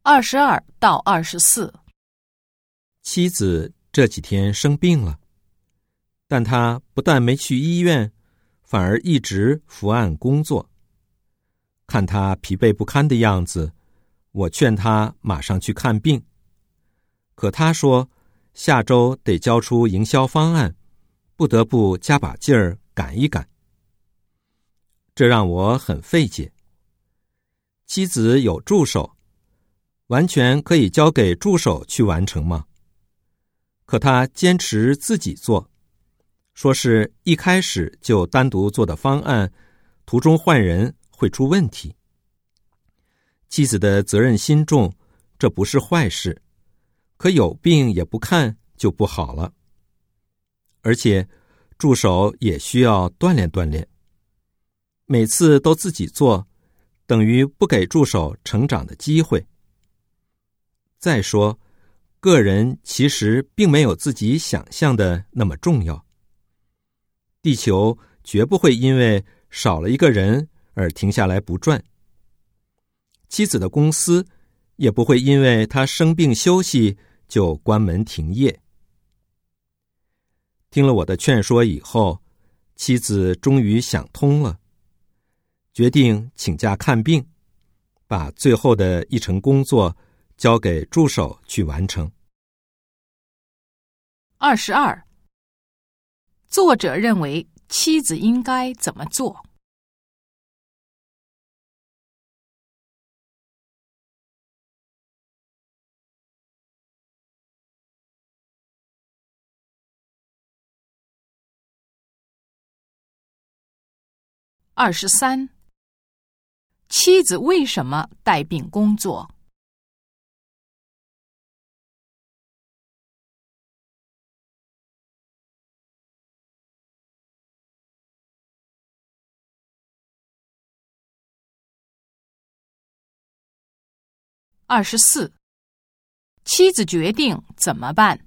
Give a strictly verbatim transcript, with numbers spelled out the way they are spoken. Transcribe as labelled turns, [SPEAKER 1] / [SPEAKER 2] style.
[SPEAKER 1] 二十二到二十四。
[SPEAKER 2] 妻子这几天生病了，但她不但没去医院，反而一直伏案工作。看她疲惫不堪的样子，我劝她马上去看病。可她说下周得交出营销方案，不得不加把劲儿赶一赶。这让我很费解。妻子有助手，完全可以交给助手去完成吗？可他坚持自己做，说是一开始就单独做的方案，途中换人会出问题。妻子的责任心重，这不是坏事，可有病也不看就不好了。而且助手也需要锻炼锻炼，每次都自己做，等于不给助手成长的机会。再说，个人其实并没有自己想象的那么重要。地球绝不会因为少了一个人而停下来不转。妻子的公司也不会因为他生病休息就关门停业。听了我的劝说以后，妻子终于想通了，决定请假看病，把最后的一程工作交给助手去完成。
[SPEAKER 1] 二十二，作者认为妻子应该怎么做？二十三，妻子为什么带病工作？二十四，妻子决定怎么办？